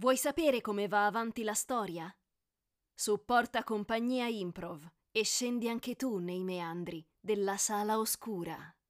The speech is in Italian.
Vuoi sapere come va avanti la storia? Supporta Compagnia Improv e scendi anche tu nei meandri della Sala Oscura.